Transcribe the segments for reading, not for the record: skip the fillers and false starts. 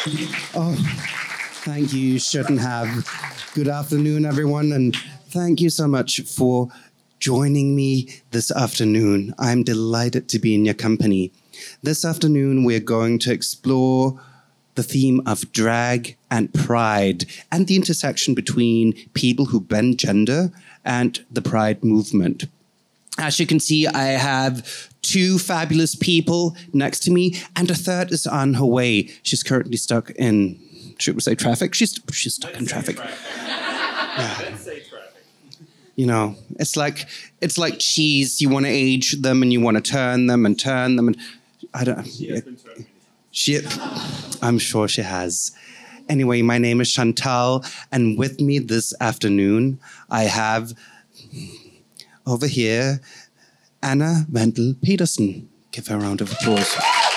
Oh, thank you. You shouldn't have. Good afternoon, everyone, and thank you so much for joining me this afternoon. I'm delighted to be in your company. This afternoon, we're going to explore the theme of drag and pride and the intersection between people who bend gender and the pride movement. As you can see, I have two fabulous people next to me, and a third is on her way. She's currently stuck in, should we say traffic? She's stuck in traffic. Let's say traffic. You know, it's like cheese. You want to age them, and you want to turn them, and I don't. She has been turned. I'm sure she has. Anyway, my name is Chantal, and with me this afternoon, I have over here Anna Wendel Petersen. Give her a round of applause.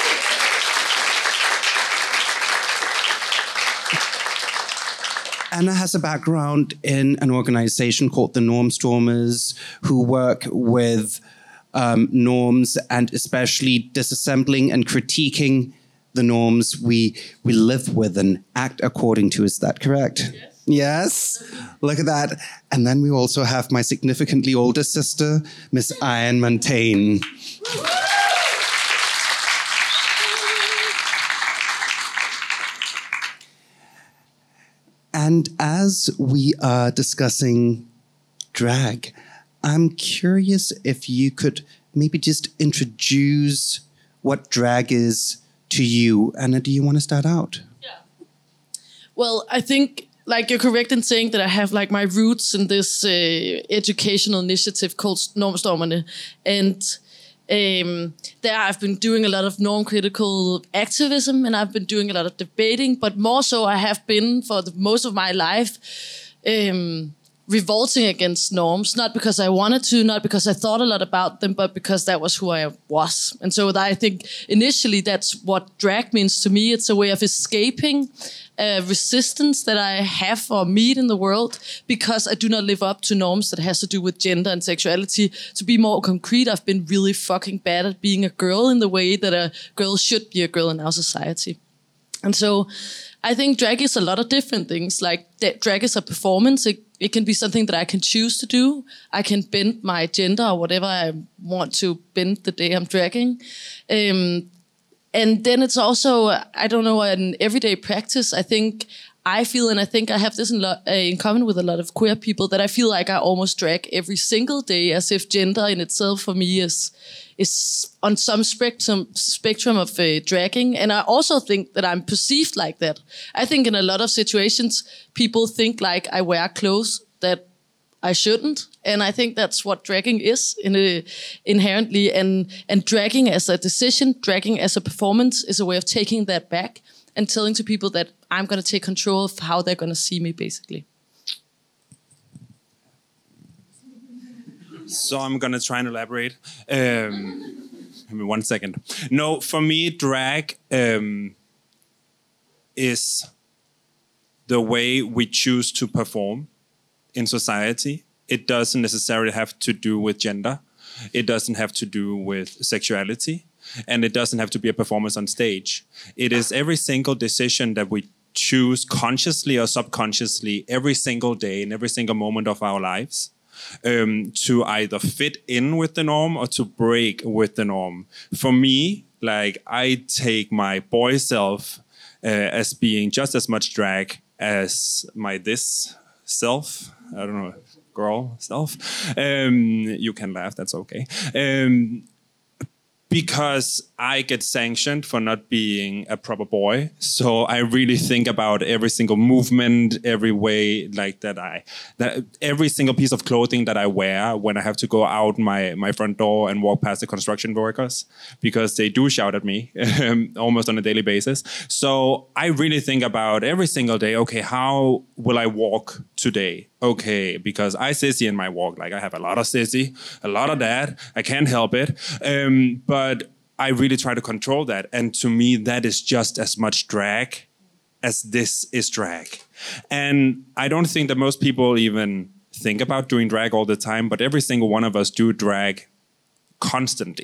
Anna has a background in an organization called the Normstormers, who work with norms and especially disassembling and critiquing the norms we live with and act according to. Is that correct? Yes? Look at that. And then we also have my significantly older sister, Miss Ian Montaigne. And as we are discussing drag, I'm curious if you could maybe just introduce what drag is to you. Anna, do you want to start out? Yeah. Well, I think, like, you're correct in saying that I have like my roots in this educational initiative called Normstormerne, and there I've been doing a lot of norm-critical activism, and I've been doing a lot of debating, but more so I have been for most of my life revolting against norms, not because I wanted to, not because I thought a lot about them, but because that was who I was. And so I think initially that's what drag means to me. It's a way of escaping resistance that I have or meet in the world because I do not live up to norms that has to do with gender and sexuality. To be more concrete, I've been really fucking bad at being a girl in the way that a girl should be a girl in our society. And so I think drag is a lot of different things. Like, drag is a performance. It can be something that I can choose to do. I can bend my gender or whatever I want to bend the day I'm dragging. And then it's also, I don't know, an everyday practice. I think I have this in common with a lot of queer people, that I feel like I almost drag every single day, as if gender in itself for me is on some spectrum of dragging. And I also think that I'm perceived like that. I think in a lot of situations, people think like I wear clothes that I shouldn't. And I think that's what dragging is inherently. And dragging as a decision, dragging as a performance is a way of taking that back and telling to people that I'm going to take control of how they're going to see me, basically. So I'm going to try and elaborate. Give me 1 second. No, for me, drag is the way we choose to perform in society. It doesn't necessarily have to do with gender. It doesn't have to do with sexuality. And it doesn't have to be a performance on stage. It is every single decision that we choose consciously or subconsciously every single day in every single moment of our lives to either fit in with the norm or to break with the norm. For me, like, I take my boy self as being just as much drag as my this self. I don't know, girl self. You can laugh, that's okay. Because I get sanctioned for not being a proper boy. So I really think about every single movement, every way like that every single piece of clothing that I wear when I have to go out my front door and walk past the construction workers, because they do shout at me almost on a daily basis. So I really think about every single day, okay, how will I walk today? Okay, because I sissy in my walk. Like, I have a lot of sissy, a lot of that. I can't help it. But I really try to control that. And to me, that is just as much drag as this is drag. And I don't think that most people even think about doing drag all the time, but every single one of us do drag constantly.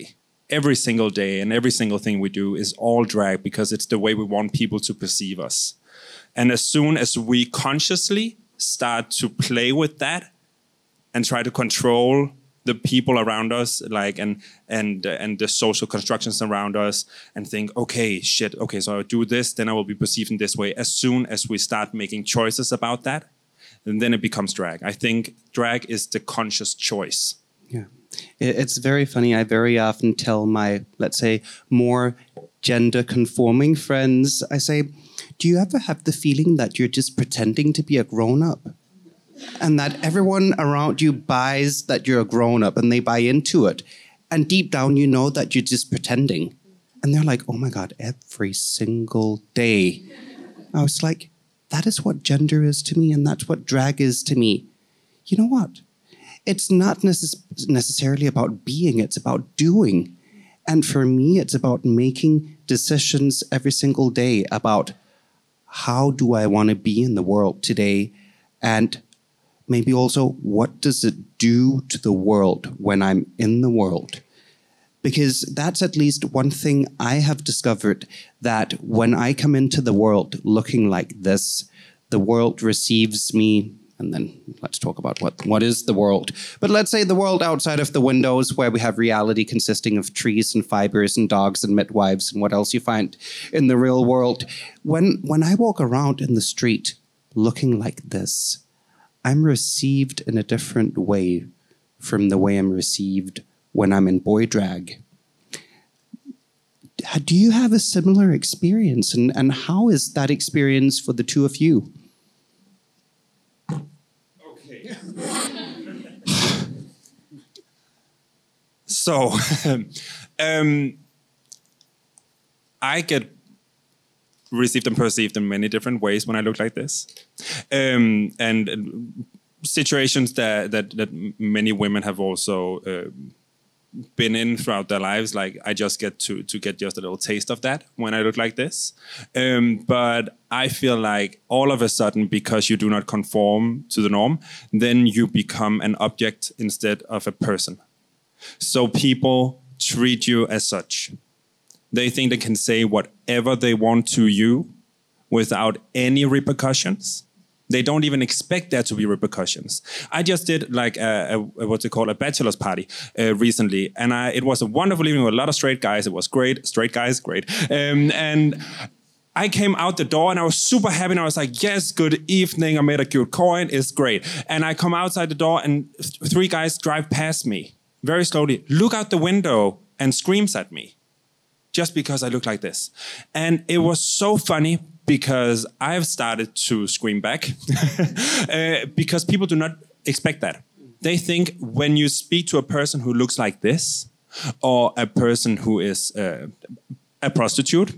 every single day and every single thing we do is all drag because it's the way we want people to perceive us. And as soon as we consciously start to play with that and try to control the people around us, like and the social constructions around us, and think, okay, so I do this, then I will be perceived in this way. As soon as we start making choices about that, and then it becomes drag. I think drag is the conscious choice. Yeah. It's very funny. I very often tell my, let's say, more gender-conforming friends, I say, do you ever have the feeling that you're just pretending to be a grown-up? And that everyone around you buys that you're a grown-up and they buy into it. And deep down, you know that you're just pretending. And they're like, oh my God, every single day. I was like, that is what gender is to me, and that's what drag is to me. You know what? It's not necessarily about being, it's about doing. And for me, it's about making decisions every single day about how do I want to be in the world today, and maybe also what does it do to the world when I'm in the world. Because that's at least one thing I have discovered, that when I come into the world looking like this, the world receives me. And then let's talk about what is the world. But let's say the world outside of the windows, where we have reality consisting of trees and fibers and dogs and midwives and what else you find in the real world. When I walk around in the street looking like this, I'm received in a different way from the way I'm received when I'm in boy drag. Do you have a similar experience? And how is that experience for the two of you? Okay. So, I get received and perceived in many different ways when I look like this. And situations that many women have also been in throughout their lives, like I just get to get just a little taste of that when I look like this. But I feel like all of a sudden, because you do not conform to the norm, then you become an object instead of a person. So people treat you as such. They think they can say whatever they want to you without any repercussions. They don't even expect there to be repercussions. I just did like what's it called, a bachelor's party recently, and it was a wonderful evening with a lot of straight guys. It was great. Straight guys, great. And I came out the door and I was super happy, and I was like, yes, good evening. I made a cute coin. It's great. And I come outside the door and three guys drive past me very slowly, look out the window and screams at me just because I look like this. And it was so funny, because I've started to scream back because people do not expect that. They think when you speak to a person who looks like this, or a person who is a prostitute,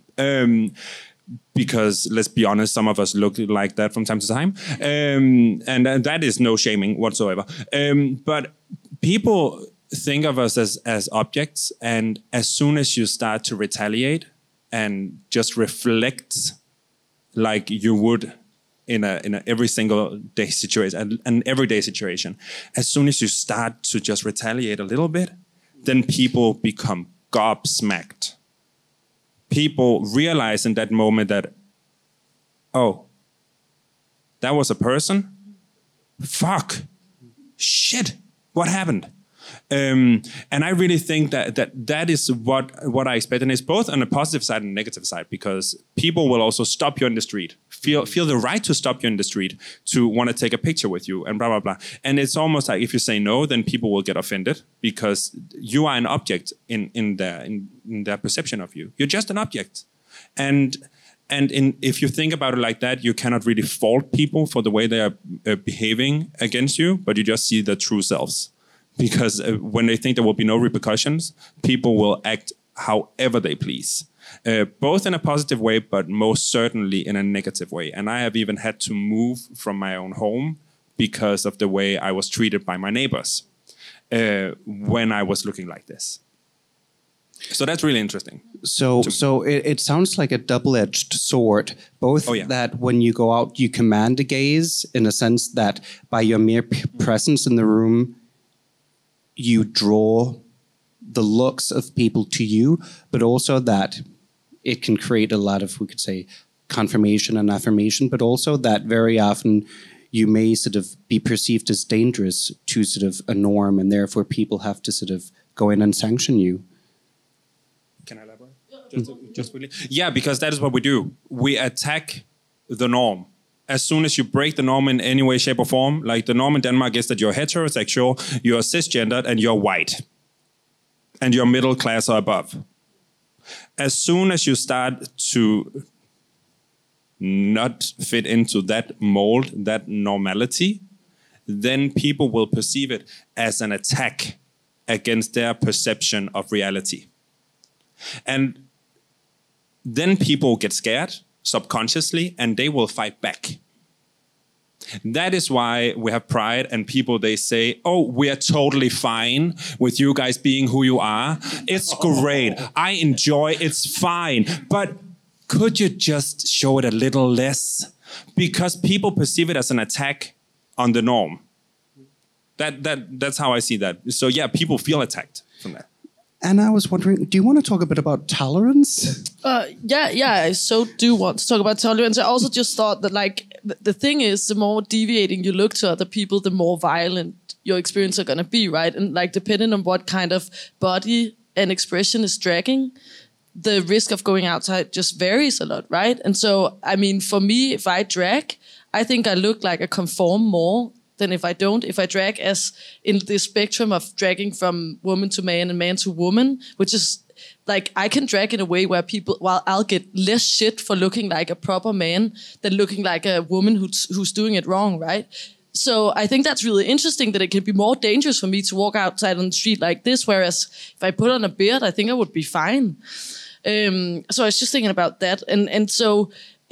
because let's be honest, some of us look like that from time to time, and that is no shaming whatsoever. But people think of us as objects, and as soon as you start to retaliate and just reflect like you would in a every single day situation, an everyday situation, as soon as you start to just retaliate a little bit, then people become gobsmacked. People realize in that moment that, oh, that was a person? Fuck. Shit. What happened? And I really think that is what I expect, and it's both on the positive side and the negative side, because people will also stop you in the street, feel the right to stop you in the street, to want to take a picture with you, and blah blah blah. And it's almost like if you say no, then people will get offended, because you are an object in their perception of you. You're just an object, and if you think about it like that, you cannot really fault people for the way they are behaving against you, but you just see their true selves. Because when they think there will be no repercussions, people will act however they please, both in a positive way, but most certainly in a negative way. And I have even had to move from my own home because of the way I was treated by my neighbors when I was looking like this. So that's really interesting. So it sounds like a double-edged sword. Both that when you go out, you command a gaze, in a sense that by your mere presence in the room, you draw the looks of people to you, but also that it can create a lot of, we could say, confirmation and affirmation, but also that very often you may sort of be perceived as dangerous to sort of a norm, and therefore people have to sort of go in and sanction you. Can I elaborate? Just quickly. Yeah, because that is what we do. We attack the norm. As soon as you break the norm in any way, shape, or form, like the norm in Denmark is that you're heterosexual, you're cisgendered, and you're white. And you're middle class or above. As soon as you start to not fit into that mold, that normality, then people will perceive it as an attack against their perception of reality. And then people get scared subconsciously and they will fight back. That is why we have Pride and people, they say, oh, we are totally fine with you guys being who you are. It's great. I enjoy, it's fine. But could you just show it a little less? Because people perceive it as an attack on the norm. That's how I see that. So yeah, people feel attacked from that. And I was wondering, do you want to talk a bit about tolerance? Yeah, I so do want to talk about tolerance. I also just thought that, like, the thing is, the more deviating you look to other people, the more violent your experience are going to be, right? And, like, depending on what kind of body and expression is dragging, the risk of going outside just varies a lot, right? And so, I mean, for me, if I drag, I think I look like I conform more than if I don't. If I drag as in the spectrum of dragging from woman to man and man to woman, which is like, I can drag in a way where people, while I'll get less shit for looking like a proper man than looking like a woman who's doing it wrong, right? So I think that's really interesting, that it can be more dangerous for me to walk outside on the street like this, whereas if I put on a beard, I think I would be fine. So I was just thinking about that. And so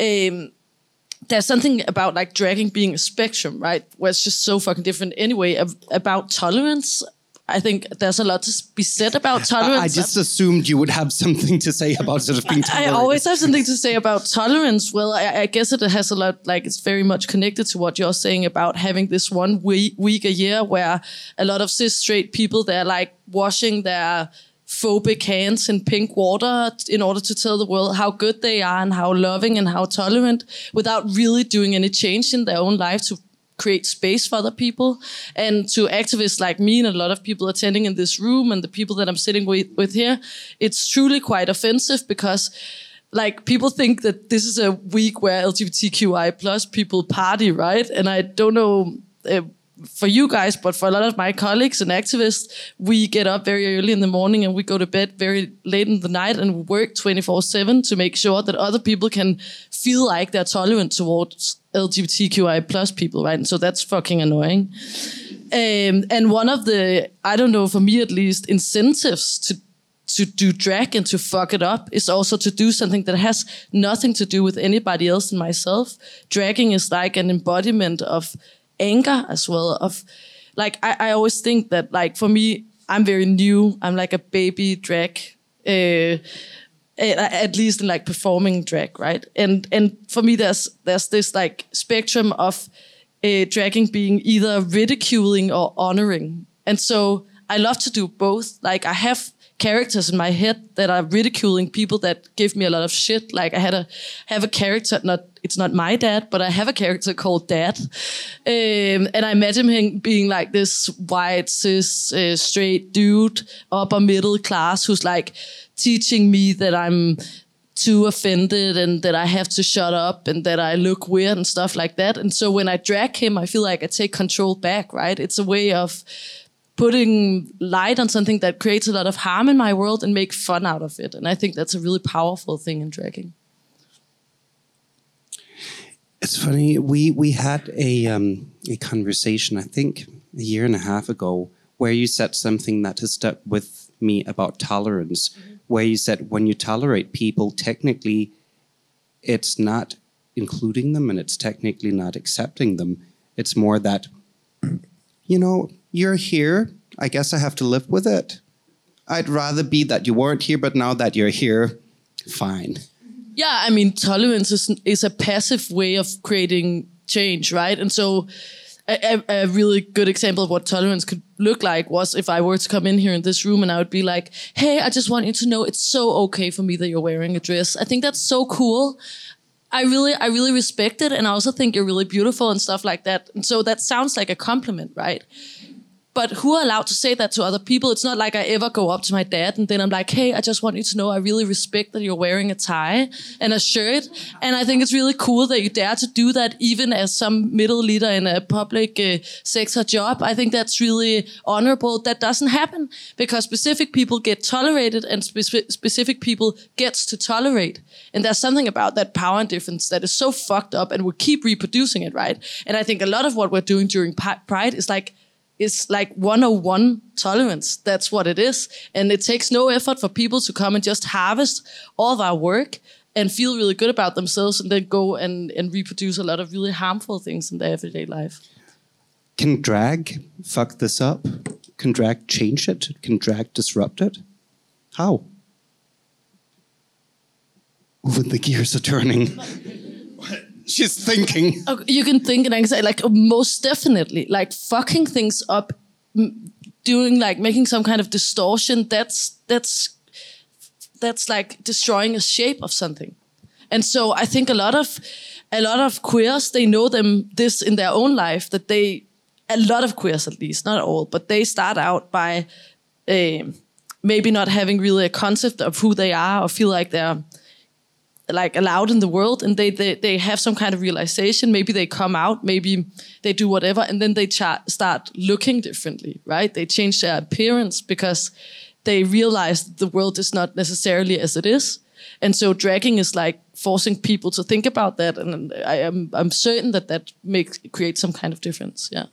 there's something about, like, dragging being a spectrum, right? Where it's just so fucking different anyway. About tolerance, I think there's a lot to be said about tolerance. I just assumed you would have something to say about sort of being tolerant. I always have something to say about tolerance. Well, I guess it has a lot, like, it's very much connected to what you're saying about having this one week a year where a lot of cis straight people, they're like washing their phobic hands in pink water in order to tell the world how good they are and how loving and how tolerant, without really doing any change in their own life to create space for other people. And to activists like me and a lot of people attending in this room and the people that I'm sitting with here, it's truly quite offensive, because, like, people think that this is a week where LGBTQI plus people party, right? And I don't know for you guys, but for a lot of my colleagues and activists, we get up very early in the morning and we go to bed very late in the night, and we work 24/7 to make sure that other people can feel like they're tolerant towards LGBTQI plus people, right? And so that's fucking annoying. And one of the, I don't know, for me at least, incentives to do drag and to fuck it up is also to do something that has nothing to do with anybody else and myself. Dragging is like an embodiment of anger as well, of, like, I always think that, like, for me, I'm very new. I'm like a baby drag, at least in, like, performing drag, right? And for me, there's this, like, spectrum of dragging being either ridiculing or honoring. And so I love to do both. Like, I have characters in my head that are ridiculing people that give me a lot of shit. Like, I have a character, it's not my dad, but I have a character called Dad. And I imagine him being like this white, cis, straight dude, upper middle class, who's like teaching me that I'm too offended and that I have to shut up and that I look weird and stuff like that. And so when I drag him, I feel like I take control back, right? It's a way of putting light on something that creates a lot of harm in my world and make fun out of it. And I think that's a really powerful thing in dragging. It's funny, we had a conversation, I think a year and a half ago, where you said something that has stuck with me about tolerance, where you said when you tolerate people, technically it's not including them and it's technically not accepting them. It's more that, you know, you're here, I guess I have to live with it. I'd rather be that you weren't here, but now that you're here, fine. Yeah, I mean, tolerance is a passive way of creating change, right? And so a really good example of what tolerance could look like was if I were to come in here in this room and I would be like, hey, I just want you to know it's so okay for me that you're wearing a dress. I think that's so cool. I really respect it, and I also think you're really beautiful and stuff like that. And so that sounds like a compliment, right? But who are allowed to say that to other people? It's not like I ever go up to my dad and then I'm like, hey, I just want you to know I really respect that you're wearing a tie and a shirt. And I think it's really cool that you dare to do that even as some middle leader in a public sector job. I think that's really honorable. That doesn't happen because specific people get tolerated and specific people gets to tolerate. And there's something about that power and difference that is so fucked up, and we keep reproducing it, right? And I think a lot of what we're doing during Pride is like 101 tolerance. That's what it is. And it takes no effort for people to come and just harvest all of our work and feel really good about themselves and then go and reproduce a lot of really harmful things in their everyday life. Can drag fuck this up? Can drag change it? Can drag disrupt it? How? Ooh, the gears are turning. She's thinking. You can think, and I can say, like, most definitely, like, fucking things up, doing, like, making some kind of distortion, that's like destroying a shape of something. And so I think a lot of queers, they know this in their own life, that a lot of queers at least, not all, but they start out by maybe not having really a concept of who they are or feel like they're like allowed in the world, and they have some kind of realization. Maybe they come out, maybe they do whatever, and then they start looking differently, right? They change their appearance because they realize that the world is not necessarily as it is. And so dragging is like forcing people to think about that, and I'm certain that creates some kind of difference. Yeah.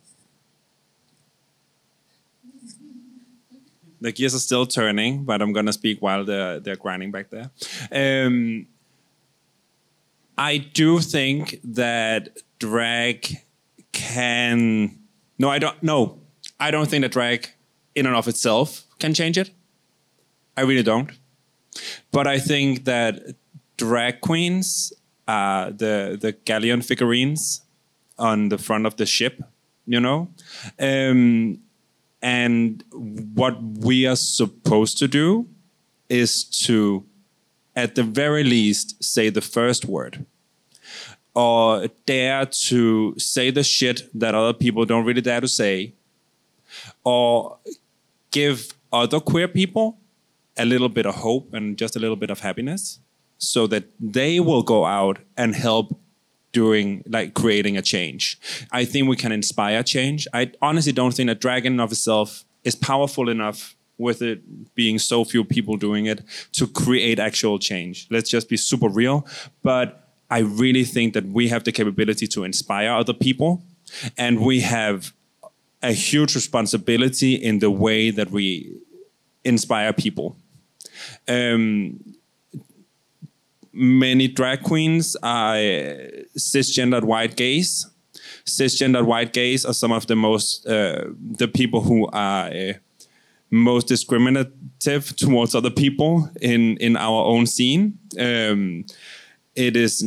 The gears are still turning, but I'm gonna speak while they're grinding back there. I do think that drag can... No, I don't. No, I don't think that drag in and of itself can change it. I really don't. But I think that drag queens are the galleon figurines on the front of the ship, you know? And what we are supposed to do is to, at the very least, say the first word. Or dare to say the shit that other people don't really dare to say. Or give other queer people a little bit of hope and just a little bit of happiness, so that they will go out and help creating a change. I think we can inspire change. I honestly don't think that drag in and of itself is powerful enough, with it being so few people doing it, to create actual change. Let's just be super real. But I really think that we have the capability to inspire other people, and we have a huge responsibility in the way that we inspire people. Many drag queens are cisgendered white gays. Cisgendered white gays are some of the most, the people who are most discriminative towards other people in our own scene. It is,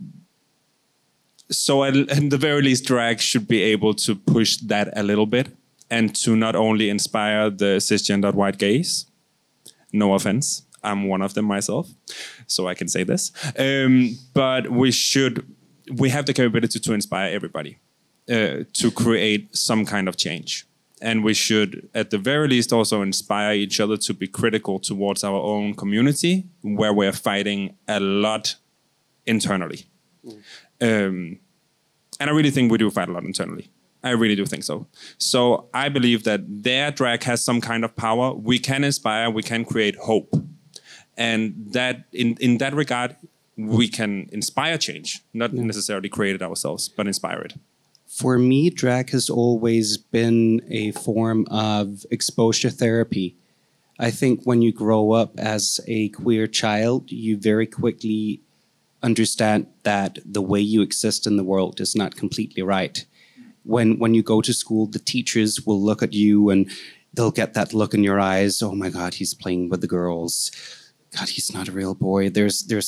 so at the very least, drag should be able to push that a little bit, and to not only inspire the cisgendered white gays. No offense, I'm one of them myself, so I can say this. But we have the capability to inspire everybody to create some kind of change. And we should, at the very least, also inspire each other to be critical towards our own community, where we're fighting a lot internally. And I really think we do fight a lot internally. I really do think so. So I believe that their drag has some kind of power. We can inspire, we can create hope. And that in that regard, we can inspire change, not necessarily create it ourselves, but inspire it. For me, drag has always been a form of exposure therapy. I think when you grow up as a queer child, you very quickly understand that the way you exist in the world is not completely right. When you go to school, the teachers will look at you and they'll get that look in your eyes. Oh my God, he's playing with the girls. God, he's not a real boy. There's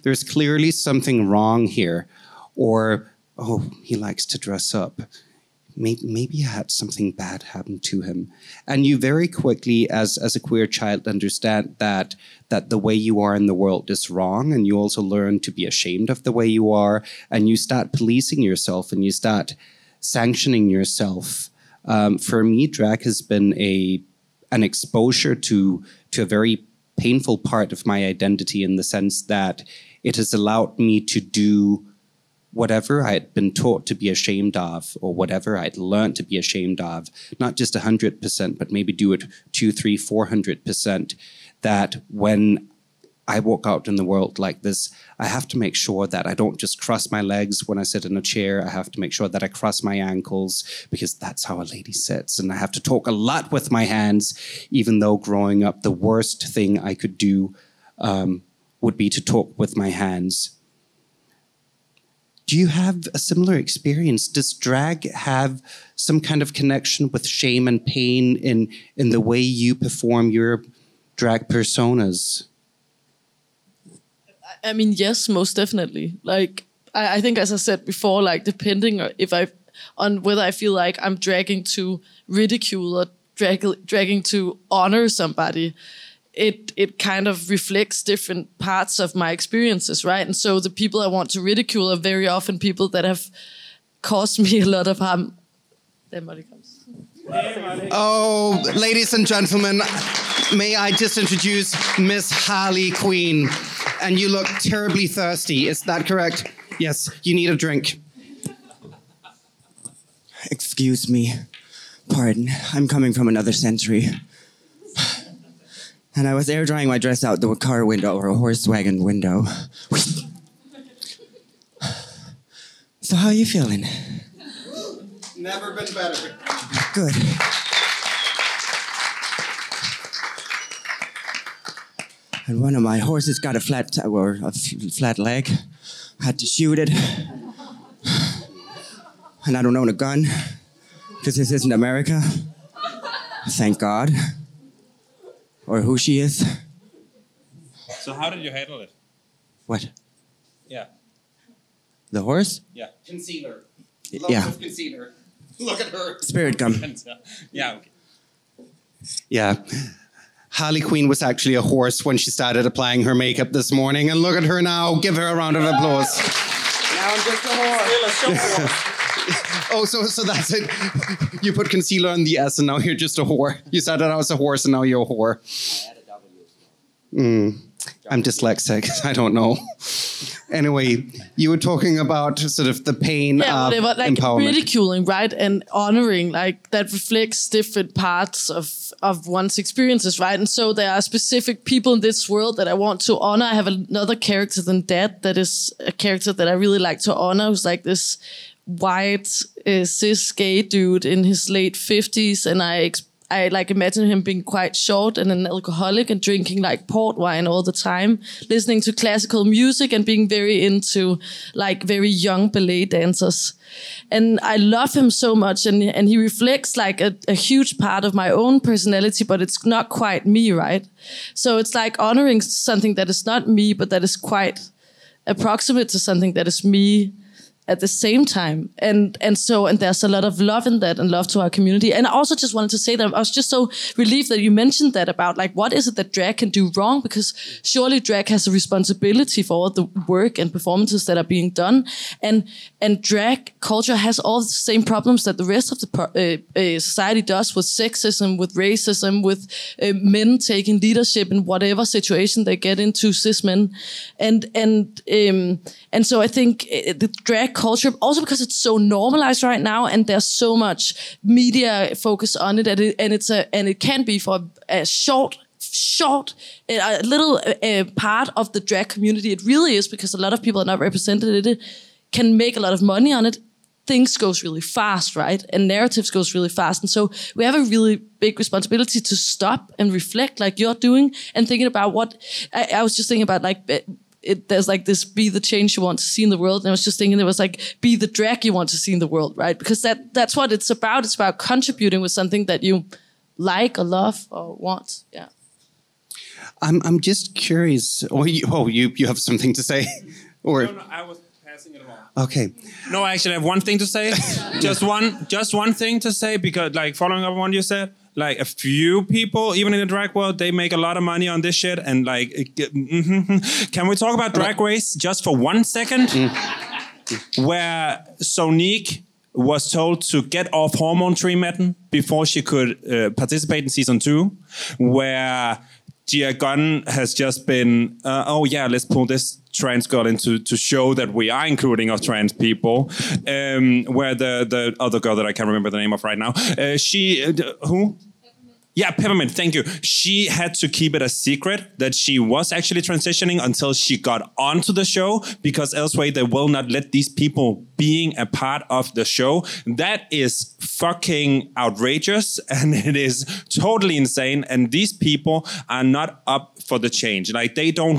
clearly something wrong here. Or, oh, he likes to dress up. maybe I had something bad happen to him. And you very quickly, as a queer child, understand that the way you are in the world is wrong, and you also learn to be ashamed of the way you are, and you start policing yourself, and you start sanctioning yourself. For me, drag has been an exposure to a very painful part of my identity, in the sense that it has allowed me to do whatever I had been taught to be ashamed of, or whatever I'd learned to be ashamed of, not just 100%, but maybe do it 200, 300, 400%, that when I walk out in the world like this, I have to make sure that I don't just cross my legs when I sit in a chair. I have to make sure that I cross my ankles, because that's how a lady sits. And I have to talk a lot with my hands, even though growing up, the worst thing I could do would be to talk with my hands. Do you have a similar experience? Does drag have some kind of connection with shame and pain in the way you perform your drag personas? I mean, yes, most definitely. Like, I think, as I said before, like, depending on whether I feel like I'm dragging to ridicule or dragging to honor somebody, it kind of reflects different parts of my experiences, right? And so the people I want to ridicule are very often people that have caused me a lot of harm. There Molly comes. Oh, ladies and gentlemen, may I just introduce Miss Harley Quinn? And you look terribly thirsty, is that correct? Yes, you need a drink. Excuse me. Pardon, I'm coming from another century. And I was air drying my dress out the car window, or a horse wagon window. So how are you feeling? Never been better. Good. And one of my horses got a flat leg. I had to shoot it. And I don't own a gun, because this isn't America. Thank God. Or who she is. So how did you handle it? What? Yeah. The horse? Yeah. Concealer. Yeah. Of concealer. Look at her. Spirit gum. Yeah, okay. Yeah. Harley Quinn was actually a horse when she started applying her makeup this morning. And look at her now. Give her a round of applause. Now I'm just a horse. Oh, so that's it. You put concealer on the S and now you're just a whore. You started out as a horse and now you're a whore. I'm dyslexic. I don't know. Anyway, you were talking about sort of the pain of like empowerment. ridiculing, right, and honoring, like, that reflects different parts of one's experiences, right? And so there are specific people in this world that I want to honor. I have another character than that is a character that I really like to honor, who's like this white cis gay dude in his late 50s, and I like imagine him being quite short and an alcoholic and drinking like port wine all the time, listening to classical music and being very into like very young ballet dancers. And I love him so much, and he reflects like a huge part of my own personality, but it's not quite me, right? So it's like honoring something that is not me, but that is quite approximate to something that is me at the same time. And there's a lot of love in that, and love to our community. And I also just wanted to say that I was just so relieved that you mentioned that about like, what is it that drag can do wrong? Because surely drag has a responsibility for all the work and performances that are being done. And drag culture has all the same problems that the rest of the society does, with sexism, with racism, with men taking leadership in whatever situation they get into, cis men. And so I think the drag culture, also because it's so normalized right now, and there's so much media focus on it, and it can be for a short a little part of the drag community. It really is, because a lot of people are not represented in it, can make a lot of money on it. Things goes really fast, right? And narratives goes really fast. And so we have a really big responsibility to stop and reflect like you're doing, and thinking about what I was just thinking about, like, there's like this, be the change you want to see in the world. And I was just thinking there was like, be the drag you want to see in the world, right? Because that's what it's about. It's about contributing with something that you like or love or want. Yeah. I'm just curious. You have something to say? Or No, I was Okay. No, actually, I have one thing to say. just one thing to say, because like following up on what you said, like a few people, even in the drag world, they make a lot of money on this shit. And like, can we talk about Drag Race just for 1 second? Where Sonique was told to get off hormone treatment before she could participate in season 2, where Gia Gunn has just been, oh yeah, let's pull this trans girl into to show that we are including our trans people. Where the other girl that I can't remember the name of right now, who? Yeah, Peppermint, thank you. She had to keep it a secret that she was actually transitioning until she got onto the show, because elsewhere they will not let these people being a part of the show. That is fucking outrageous, and it is totally insane. And these people are not up for the change. Like they don't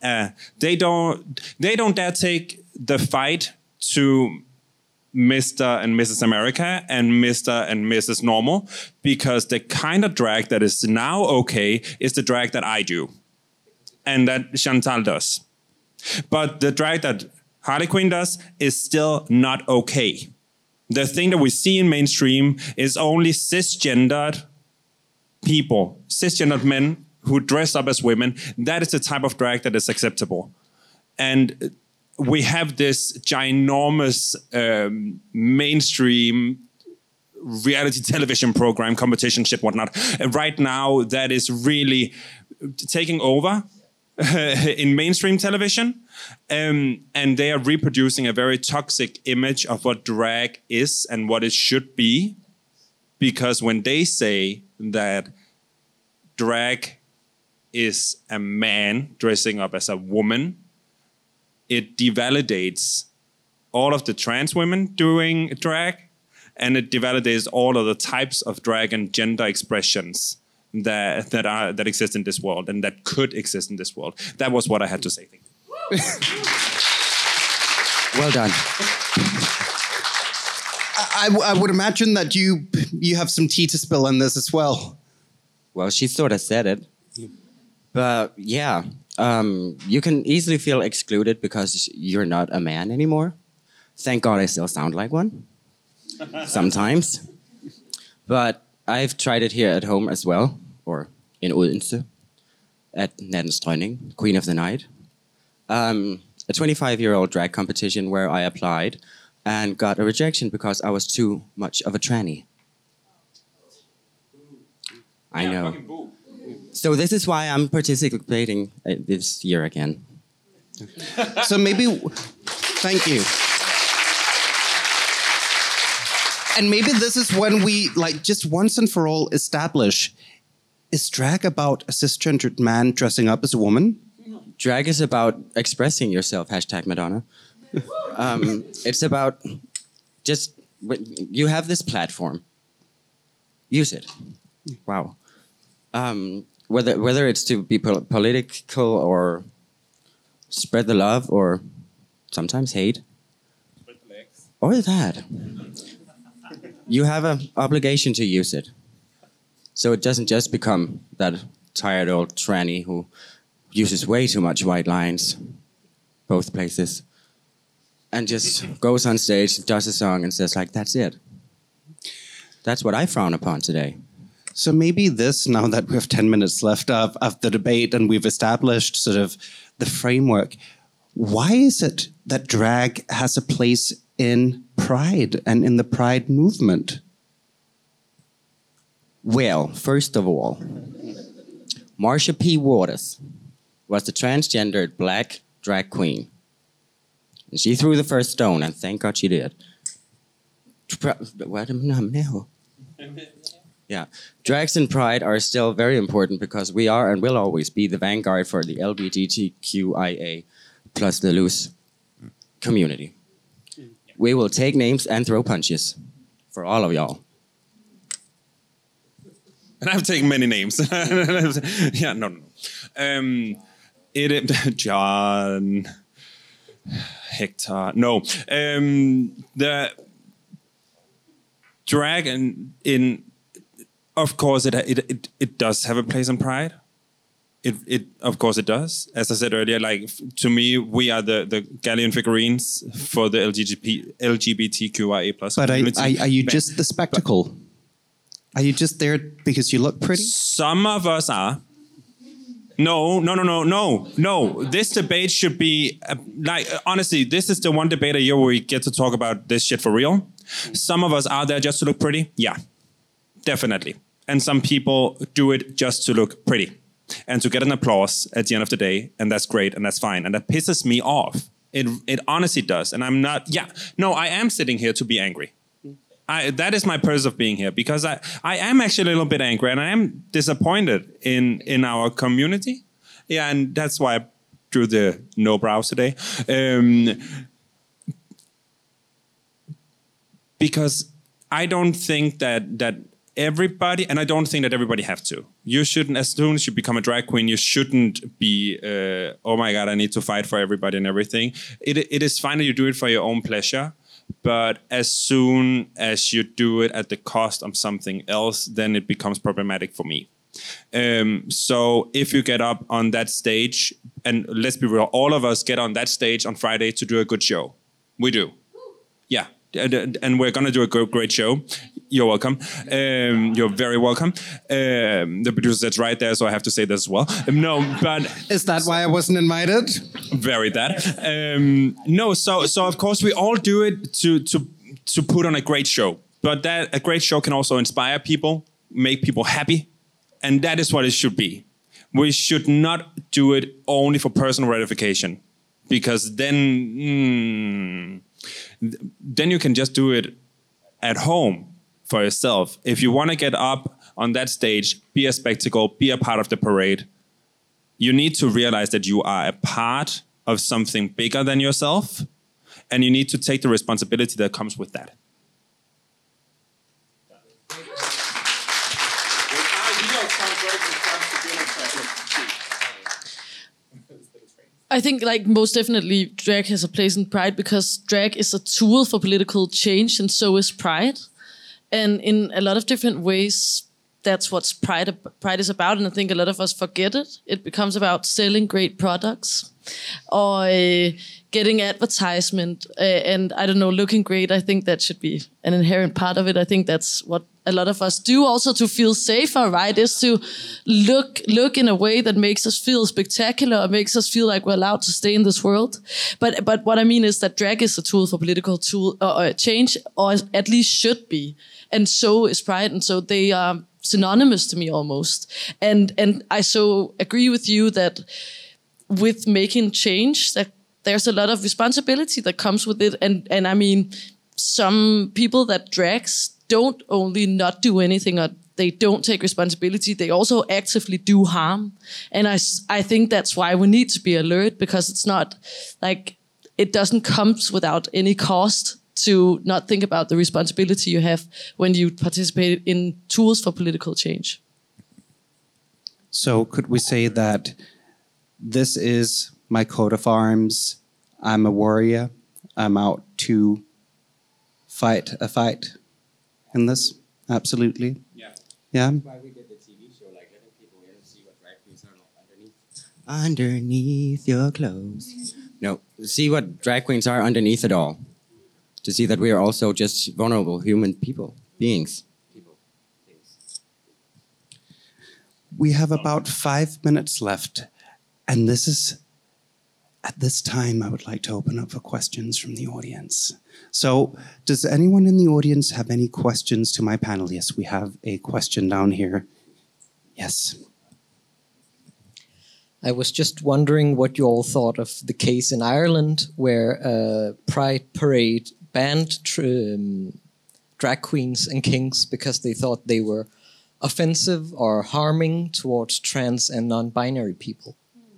dare take the fight to Mr. and Mrs. America and Mr. and Mrs. Normal, because the kind of drag that is now okay is the drag that I do and that Chantal does. But the drag that Harley Quinn does is still not okay. The thing that we see in mainstream is only cisgendered people, cisgendered men who dress up as women. That is the type of drag that is acceptable. And we have this ginormous mainstream reality television program, competition, shit, whatnot. Right now, that is really taking over in mainstream television. And they are reproducing a very toxic image of what drag is and what it should be. Because when they say that drag is a man dressing up as a woman, it devalidates all of the trans women doing drag, and it devalidates all of the types of drag and gender expressions that exist in this world and that could exist in this world. That was what I had to say. Thank you. Well done. I would imagine that you have some tea to spill on this as well. Well, she sort of said it. But yeah, you can easily feel excluded because you're not a man anymore. Thank God I still sound like one. Sometimes. But I've tried it here at home as well, or in Odense, at Nattens Dronning, Queen of the Night. A 25-year-old drag competition where I applied and got a rejection because I was too much of a tranny. I know. So this is why I'm participating this year again. So maybe, thank you. And maybe this is when we, like, just once and for all establish, is drag about a cisgendered man dressing up as a woman? Drag is about expressing yourself, hashtag Madonna. It's about just, you have this platform. Use it. Wow. Whether it's to be political or spread the love or sometimes hate. Spread the legs. Or that. You have an obligation to use it. So it doesn't just become that tired old tranny who uses way too much white lines, both places, and just goes on stage, does a song and says like, that's it. That's what I frown upon today. So maybe this, now that we have 10 minutes left of the debate and we've established sort of the framework, why is it that drag has a place in Pride and in the Pride movement? Well, first of all, Marsha P. Waters was the transgendered black drag queen. And she threw the first stone, and thank God she did. Yeah, drags and pride are still very important because we are and will always be the vanguard for the LGBTQIA plus the loose community. We will take names and throw punches for all of y'all. And I've taken many names. Yeah, no. John, Hector. No. The drag in of course, it does have a place in Pride. It of course it does. As I said earlier, like to me, we are the galleon figurines for the LGBTQIA plus But community. are you just the spectacle? Are you just there because you look pretty? Some of us are. No. This debate should be like honestly, this is the one debate a year where we get to talk about this shit for real. Some of us are there just to look pretty. Yeah, definitely. And some people do it just to look pretty and to get an applause at the end of the day, and that's great and that's fine. And that pisses me off. It honestly does. And I'm not. Yeah, no, I am sitting here to be angry. That is my purpose of being here, because I am actually a little bit angry and I am disappointed in our community. Yeah, and that's why I drew the no brows today. Because I don't think that everybody, and I don't think that everybody have to. You shouldn't, as soon as you become a drag queen, you shouldn't be, oh my God, I need to fight for everybody and everything. It is fine that you do it for your own pleasure. But as soon as you do it at the cost of something else, then it becomes problematic for me. So if you get up on that stage, and let's be real, all of us get on that stage on Friday to do a good show. We do. Yeah. And we're going to do a great show. You're welcome. You're very welcome. The producer that's right there, so I have to say this as well. No, but... Is that why I wasn't invited? Very that. No, so of course we all do it to put on a great show. But that a great show can also inspire people, make people happy. And that is what it should be. We should not do it only for personal gratification. Because then you can just do it at home for yourself. If you want to get up on that stage, be a spectacle, be a part of the parade, you need to realize that you are a part of something bigger than yourself, and you need to take the responsibility that comes with that. I think, like, most definitely drag has a place in Pride, because drag is a tool for political change, and so is Pride. And in a lot of different ways, that's what Pride is about, and I think a lot of us forget it. It becomes about selling great products or getting advertisement and, I don't know, looking great. I think that should be an inherent part of it. I think that's what a lot of us do also to feel safer, right? Is to look in a way that makes us feel spectacular, makes us feel like we're allowed to stay in this world. But what I mean is that drag is a tool for political change, or at least should be. And so is Pride, and so they are synonymous to me almost. And I so agree with you that with making change, that there's a lot of responsibility that comes with it. And I mean, some people that drags don't only not do anything, or they don't take responsibility, they also actively do harm. And I think that's why we need to be alert, because it's not like, it doesn't come without any cost to not think about the responsibility you have when you participate in tools for political change. So could we say that this is my coat of arms? I'm a warrior. I'm out to fight a fight in this? Absolutely. Yeah. Yeah. Why we did the TV show, like letting people in and see what drag queens are underneath your clothes. No, see what drag queens are underneath it all. To see that we are also just vulnerable human beings. We have about 5 minutes left, and this is, at this time, I would like to open up for questions from the audience. So, does anyone in the audience have any questions to my panel? Yes, we have a question down here. Yes. I was just wondering what you all thought of the case in Ireland where a Pride parade banned drag queens and kings because they thought they were offensive or harming towards trans and non-binary people.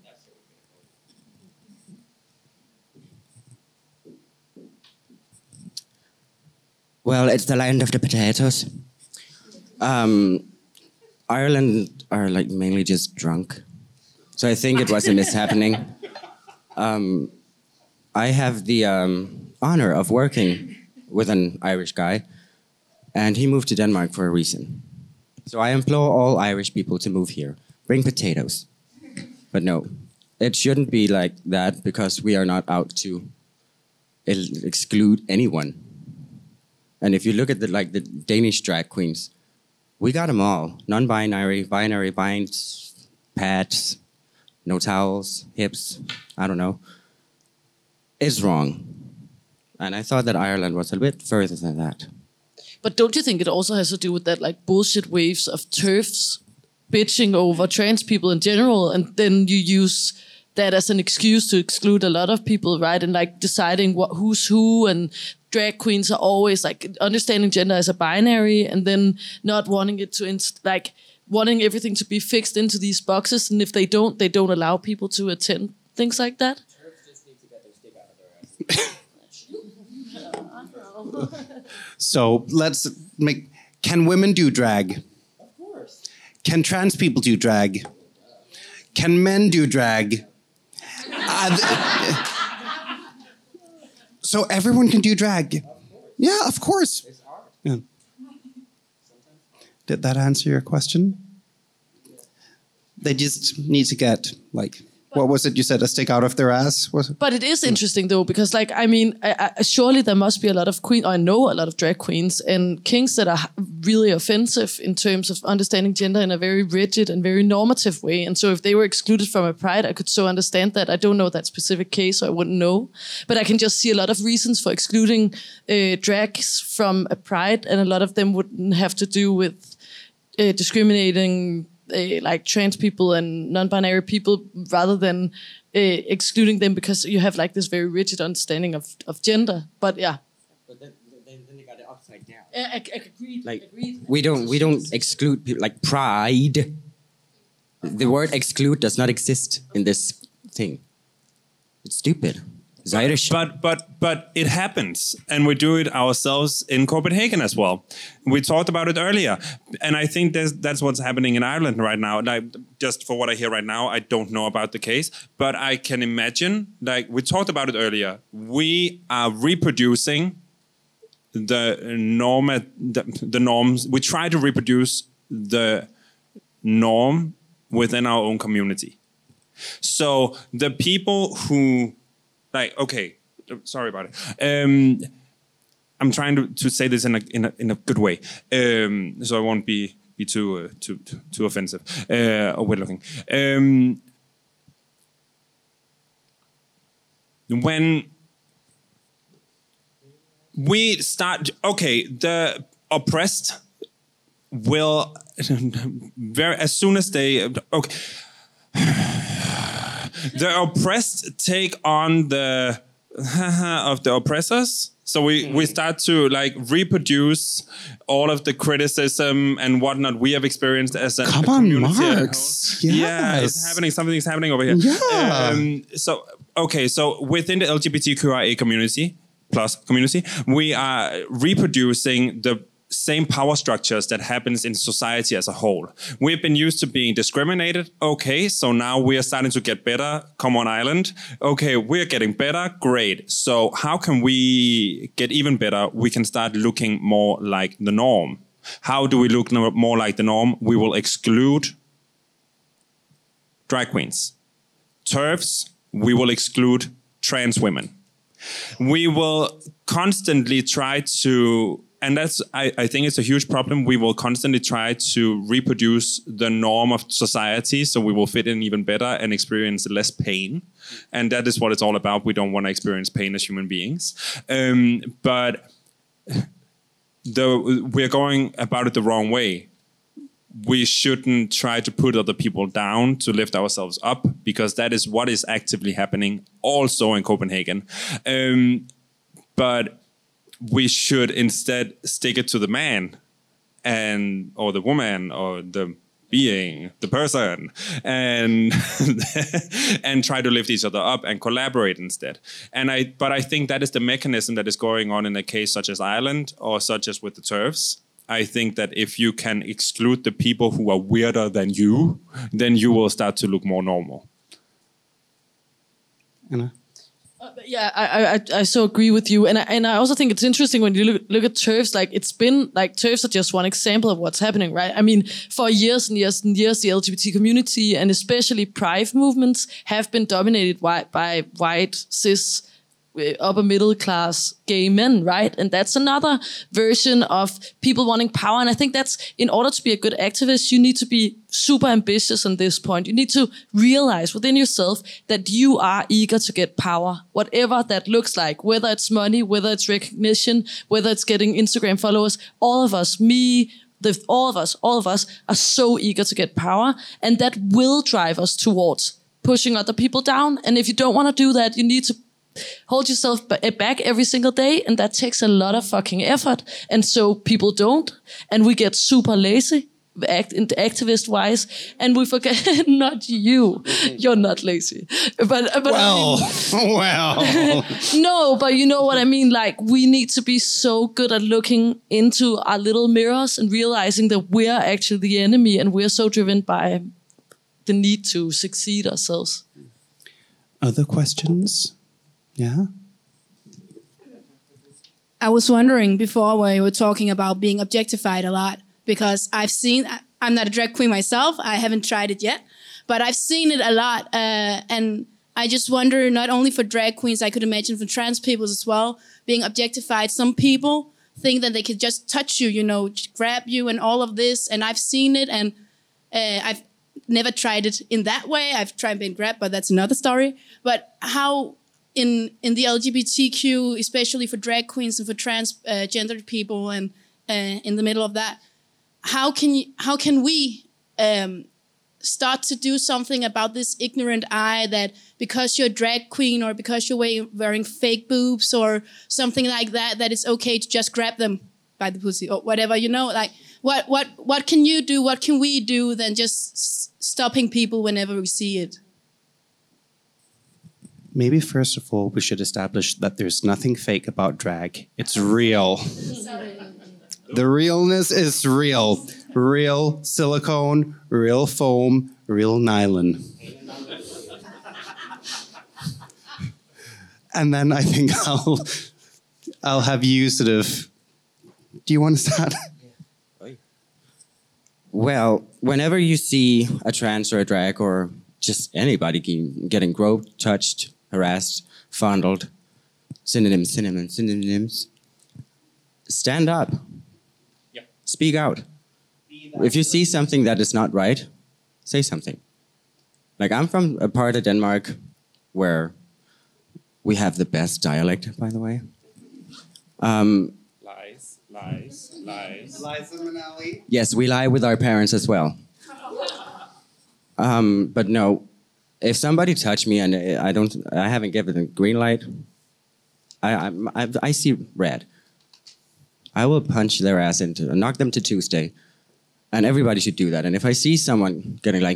Well, it's the land of the potatoes. Ireland are like mainly just drunk. So I think it was a mishappening. I have the honor of working with an Irish guy, and he moved to Denmark for a reason. So I implore all Irish people to move here. Bring potatoes. But no, it shouldn't be like that because we are not out to exclude anyone. And if you look at the Danish drag queens, we got them all: non-binary, binary, binds, pads, no towels, hips. I don't know. It's wrong, and I thought that Ireland was a bit further than that. But don't you think it also has to do with that like bullshit waves of TERFs bitching over trans people in general, and then you use that as an excuse to exclude a lot of people, right? And like deciding who's who, and drag queens are always like understanding gender as a binary, and then not wanting it to wanting everything to be fixed into these boxes, and if they don't allow people to attend things like that. So let's make. Can women do drag? Of course. Can trans people do drag? Can men do drag? So everyone can do drag. Yeah, of course. Yeah. Did that answer your question? They just need to get like, what was it you said? A stick out of their ass? Was it? But it is interesting though, because like, I mean, surely there must be a lot of I know a lot of drag queens and kinks that are really offensive in terms of understanding gender in a very rigid and very normative way. And so if they were excluded from a pride, I could so understand that. I don't know that specific case, so I wouldn't know. But I can just see a lot of reasons for excluding drags from a pride, and a lot of them wouldn't have to do with discriminating like trans people and non-binary people, rather than excluding them because you have like this very rigid understanding of gender. But yeah. But then they got it upside down. Agreed. Like agreed. we don't exclude people like pride. The word exclude does not exist in this thing. It's stupid. It's Irish. But it happens, and we do it ourselves in Copenhagen as well. We talked about it earlier, and I think that's what's happening in Ireland right now. Like, just for what I hear right now, I don't know about the case, but I can imagine. Like we talked about it earlier, we are reproducing the norms. We try to reproduce the norm within our own community. So the people who like, okay, sorry about it. I'm trying to say this in a good way, so I won't be too offensive or weird looking. When we start, okay, the oppressed will as soon as they okay. The oppressed take on the of the oppressors. So we start to like reproduce all of the criticism and whatnot we have experienced as a community. Come on, Marx. Yes. Yeah, it's happening. Something's happening over here. Yeah. So within the LGBTQIA community, we are reproducing the same power structures that happens in society as a whole. We've been used to being discriminated. Okay, so now we are starting to get better. Come on, Ireland. Okay, we're getting better. Great. So how can we get even better? We can start looking more like the norm. How do we look more like the norm? We will exclude drag queens. TERFs, we will exclude trans women. We will constantly try to, and that's, I think it's a huge problem. We will constantly try to reproduce the norm of society so we will fit in even better and experience less pain. And that is what it's all about. We don't want to experience pain as human beings. But we're going about it the wrong way. We shouldn't try to put other people down to lift ourselves up, because that is what is actively happening also in Copenhagen. But we should instead stick it to the man or the woman or the being, the person, and and try to lift each other up and collaborate instead. But I think that is the mechanism that is going on in a case such as Ireland or such as with the TERFs. I think that if you can exclude the people who are weirder than you, then you will start to look more normal. Anna? Yeah, I so agree with you, and I also think it's interesting when you look at TERFs. Like it's been like TERFs are just one example of what's happening, right? I mean, for years and years and years, the LGBT community and especially Pride movements have been dominated by white cis upper middle class gay men, right? And that's another version of people wanting power. And I think that's, in order to be a good activist, you need to be super ambitious on this point. You need to realize within yourself that you are eager to get power, whatever that looks like, whether it's money, whether it's recognition, whether it's getting Instagram followers. All of us, all of us are so eager to get power, and that will drive us towards pushing other people down. And if you don't want to do that, you need to hold yourself back every single day, and that takes a lot of fucking effort. And so people don't, and we get super lazy, activist wise, and we forget. Not you, you're not lazy, but well, no, but you know what I mean. Like we need to be so good at looking into our little mirrors and realizing that we're actually the enemy, and we're so driven by the need to succeed ourselves. Other questions? Yeah. I was wondering before when you were talking about being objectified a lot, because I'm not a drag queen myself. I haven't tried it yet, but I've seen it a lot. And I just wonder, not only for drag queens, I could imagine for trans people as well, being objectified. Some people think that they could just touch you, grab you and all of this. And I've seen it, and I've never tried it in that way. I've tried being grabbed, but that's another story. But how... In the LGBTQ, especially for drag queens and for transgendered people, and in the middle of that, how can we start to do something about this ignorant eye that because you're a drag queen or because you're wearing fake boobs or something like that, that it's okay to just grab them by the pussy or whatever, like what can you do? What can we do than just stopping people whenever we see it? Maybe first of all, we should establish that there's nothing fake about drag. It's real. The realness is real. Real silicone, real foam, real nylon. And then I think I'll have you sort of... Do you want to start? Well, whenever you see a trans or a drag or just anybody getting groped, touched, harassed, fondled, synonyms. Stand up. Yep. Speak out. If you see something that is not right, say something. Like I'm from a part of Denmark where we have the best dialect, by the way. Lies. Liza Minnelli. Yes, we lie with our parents as well. But no. If somebody touched me and I haven't given them green light, I see red. I will punch their ass knock them to Tuesday, and everybody should do that. And if I see someone getting like,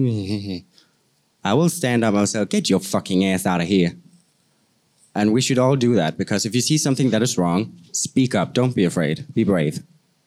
I will stand up and I'll say, get your fucking ass out of here. And we should all do that, because if you see something that is wrong, speak up. Don't be afraid. Be brave.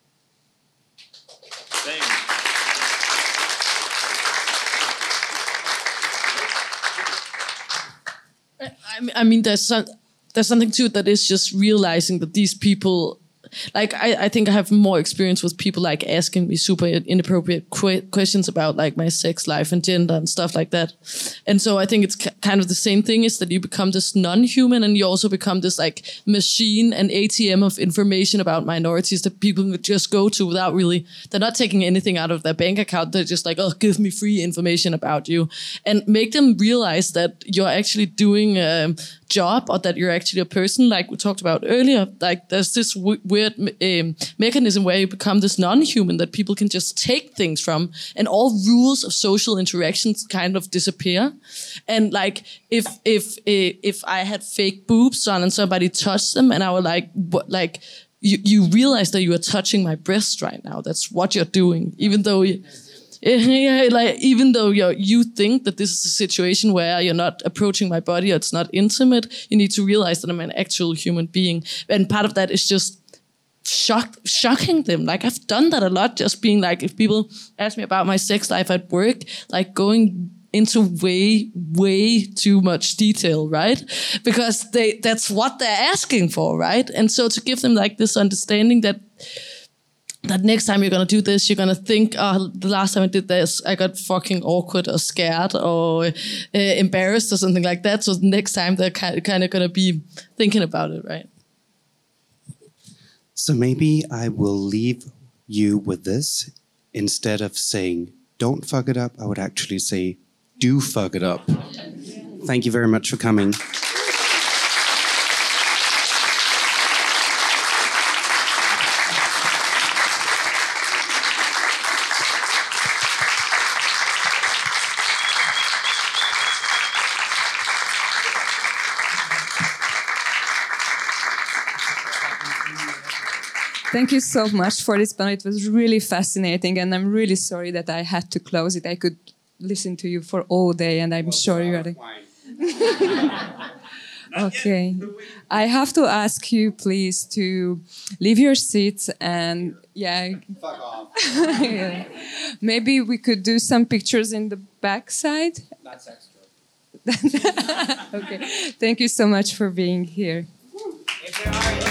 I mean, there's something to it that is just realizing that these people, like, I think I have more experience with people like asking me super inappropriate questions about like my sex life and gender and stuff like that. And so I think it's kind of the same thing, is that you become this non-human, and you also become this like machine and ATM of information about minorities that people can just go to without really, they're not taking anything out of their bank account. They're just like, oh, give me free information about you, and make them realize that you're actually doing job, or that you're actually a person, like we talked about earlier. Like there's this weird mechanism where you become this non-human that people can just take things from, and all rules of social interactions kind of disappear. And like if I had fake boobs on and somebody touched them, and I were like, what, like you realize that you are touching my breast right now. That's what you're doing, even though even though you think that this is a situation where you're not approaching my body, or it's not intimate, you need to realize that I'm an actual human being. And part of that is just shocking them. Like I've done that a lot, just being like, if people ask me about my sex life at work, like going into way too much detail, right? Because that's what they're asking for, right? And so to give them like this understanding that next time you're gonna do this, you're gonna think, oh, the last time I did this, I got fucking awkward or scared or embarrassed or something like that. So next time they're kind of gonna be thinking about it, right? So maybe I will leave you with this. Instead of saying, don't fuck it up, I would actually say, do fuck it up. Thank you very much for coming. Thank you so much for this panel. It was really fascinating, and I'm really sorry that I had to close it. I could listen to you for all day, and I'm sure you are. Okay. I have to ask you, please, to leave your seats and, fuck off. Yeah. Maybe we could do some pictures in the backside. That's extra. Okay. Thank you so much for being here. If there are